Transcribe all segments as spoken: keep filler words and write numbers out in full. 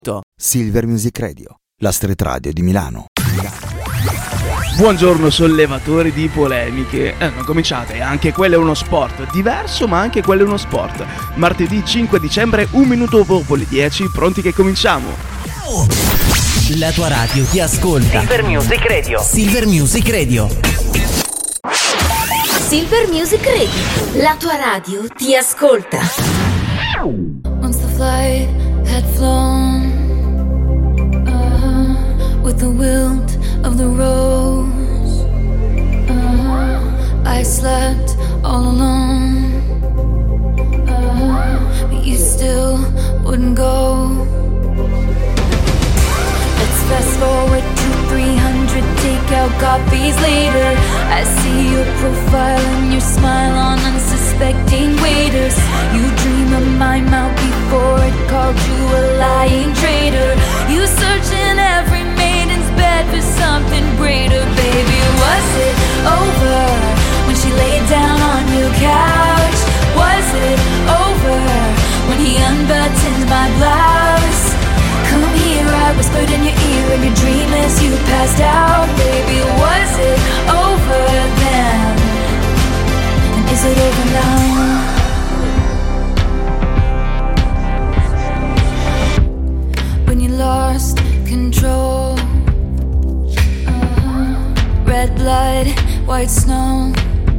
Silver Music Radio, la street radio di Milano. Buongiorno sollevatori di polemiche. Eh, non cominciate, anche quello è uno sport. Diverso, ma anche quello è uno sport. Martedì cinque dicembre, un minuto dopo le dieci, pronti che cominciamo. La tua radio ti ascolta. Silver Music Radio. Silver Music Radio. Silver Music Radio. La tua radio ti ascolta. Once the flight had flown, uh-huh, with the wilt of the rose, uh-huh, I slept all alone, uh-huh, but you still wouldn't go. Let's fast forward to three hundred takeout copies later. I see your profile and your smile on unsuspecting waiters. You dream of my mouth before it called you a lying traitor. You search in every maiden's bed for something greater. Baby, was it over when she laid down on your couch? Was it over when he unbuttoned my blouse? Come here, I whispered in your ear in your dream as you passed out. Baby, was it over then? And is it over now? When you lost control, uh-huh. Red blood, white snow,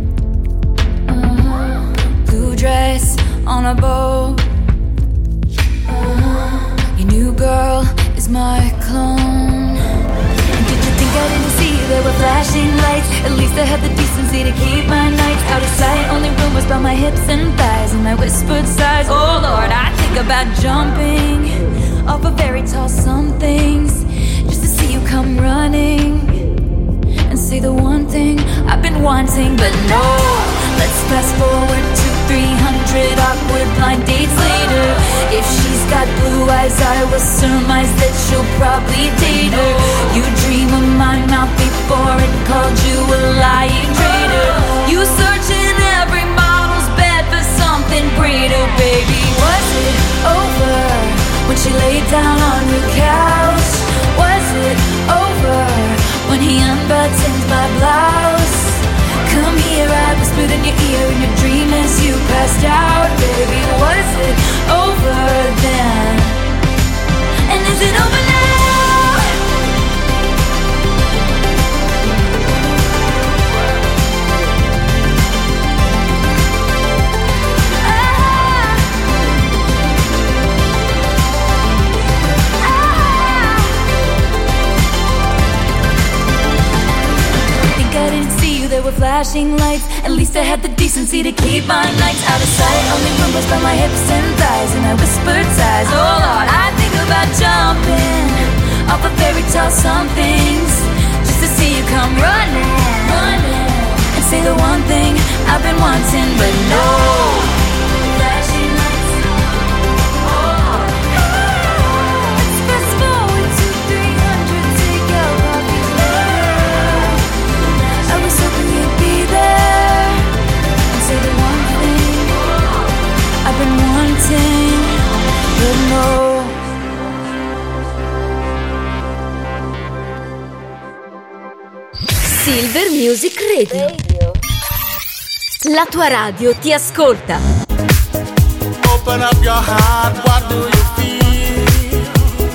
uh-huh. Blue dress on a boat, uh-huh. Your new girl is my clone. And did you think I didn't see there were flashing lights? At least I had the decency to keep my nights out of sight. Only rumors about my hips and thighs and my whispered sighs. Oh Lord, I think about jumping off of very tall somethings just to see you come running and say the one thing I've been wanting. But no, let's fast forward to three hundred awkward blind dates later. If she's got blue eyes, I will surmise that she'll probably date her. You dream of my mouth before it called you a lying traitor. You search in every model's bed for something greater. Baby, was it over when she laid down on your couch? Was it over when he unbuttoned my blouse? Come here, I whispered in your ear in your dream as you passed out. Baby, was it over then? And is it over now? Ah. Ah. I think I didn't see you, there were flashing lights. At least I had the decency to keep my nights out of sight. Only rumors about my hips and thighs and I whispered sighs. Oh Lord, I think about jumping off of fairy tale somethings just to see you come running, running and say the one thing I've been wanting. But no, flashing lights. Oh, let's fast forward to three hundred takeout copies later. I was hoping you'd be there and say the one thing I've been wanting. But no. Silver Music Radio. La tua radio ti ascolta. Open up your heart, what do you feel?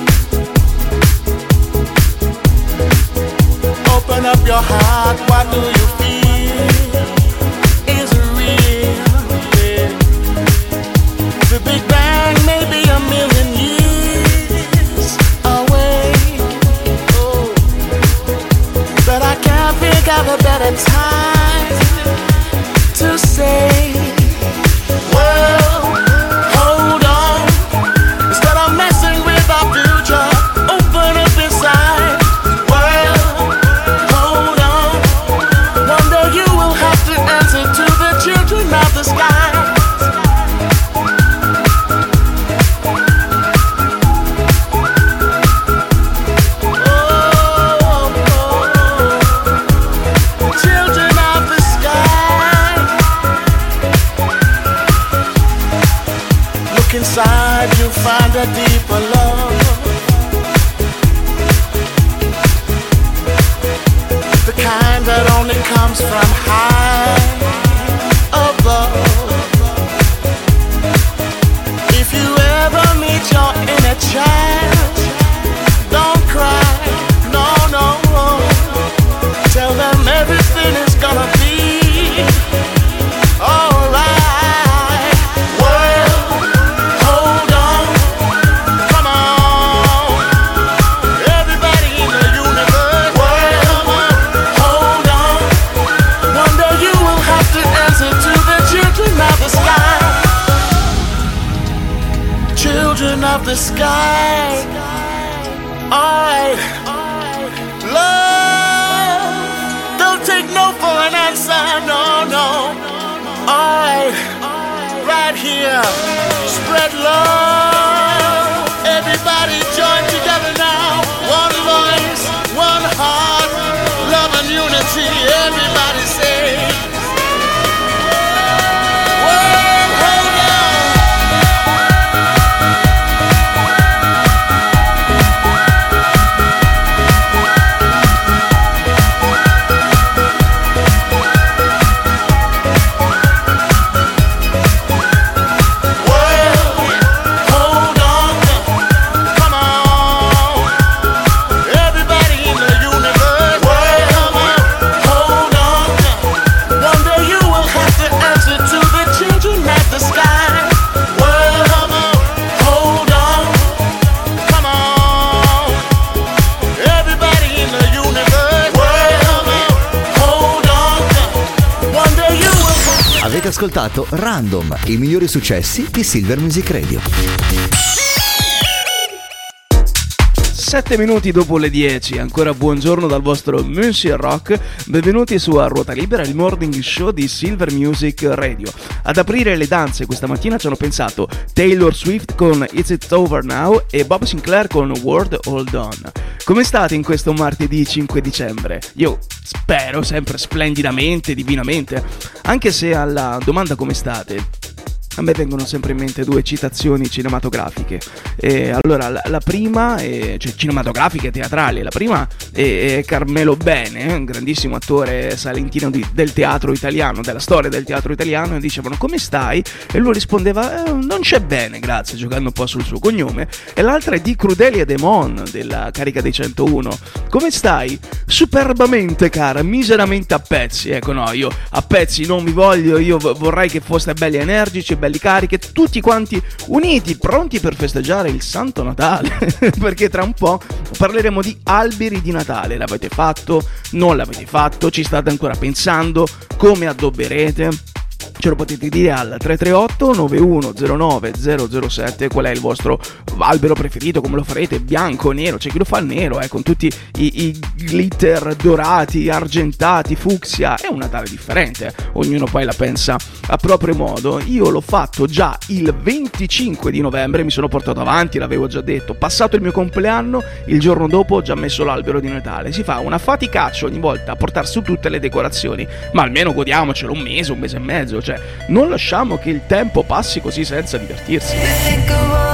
Open up your heart, what do you feel? Is it real? Yeah. The Big Bang may be a million years away. Oh. But I can't think of a better time to say, well, hold on. comes from high above. If you ever meet your inner child, don't cry, no, no. Tell them everything is gonna be alright. World, hold on, come on. Everybody in the universe, world, hold on. One day you will have to answer to the children of the sky. Children of the sky. Alright. Love, don't take no for an answer, no, no. Alright, right here, spread love. Everybody join together now. One voice, one heart, love and unity. Everybody say, world, hold on. Avete ascoltato Random, i migliori successi di Silver Music Radio. Sette minuti dopo le dieci, ancora buongiorno dal vostro Monsieur Rock, benvenuti su A Ruota Libera, il morning show di Silver Music Radio. Ad aprire le danze questa mattina ci hanno pensato Taylor Swift con Is It Over Now e Bob Sinclair con World Hold On. Come state in questo martedì cinque dicembre? Io spero sempre splendidamente, divinamente, anche se alla domanda come state a me vengono sempre in mente due citazioni cinematografiche. E allora, la, la prima, è, cioè cinematografiche e teatrali, la prima è, è Carmelo Bene, un grandissimo attore salentino di, del teatro italiano, della storia del teatro italiano, e dicevano come stai? E lui rispondeva eh, non c'è bene, grazie, giocando un po' sul suo cognome. E l'altra è di Crudelia Demon, della Carica dei centouno. Come stai? Superbamente, cara, miseramente a pezzi. Ecco, no, io a pezzi non vi voglio, io vorrei che foste belli energici, belli cariche, tutti quanti uniti, pronti per festeggiare il Santo Natale. Perché tra un po' parleremo di alberi di Natale. L'avete fatto? Non l'avete fatto? Ci state ancora pensando? Come addobberete? Ce lo potete dire al tre tre otto nove uno zero nove zero zero sette qual è il vostro albero preferito, come lo farete, bianco, nero, c'è chi lo fa nero, eh, con tutti i, i glitter dorati, argentati, fucsia, è un Natale differente, ognuno poi la pensa a proprio modo. Io l'ho fatto già il venticinque di novembre, mi sono portato avanti, l'avevo già detto, passato il mio compleanno, il giorno dopo ho già messo l'albero di Natale. Si fa una faticaccia ogni volta a portare su tutte le decorazioni, ma almeno godiamocelo un mese, un mese e mezzo, cioè non lasciamo che il tempo passi così senza divertirsi.